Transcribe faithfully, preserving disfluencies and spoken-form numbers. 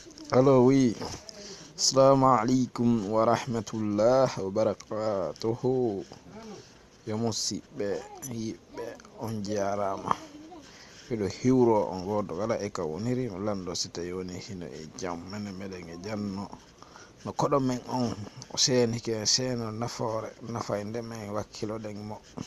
Allo, oui. Assalamu alaikum wa rahmatullah wa barakatuhu. Yo musidɓe yiɓɓe on jarama. Miɗo hiwro on goto kala e ka woniri mi lando si tawi woni hino e jaam mene meɗen e janno no koɗo men on o senike seno nafoore nafayde men wakkiloɗen mo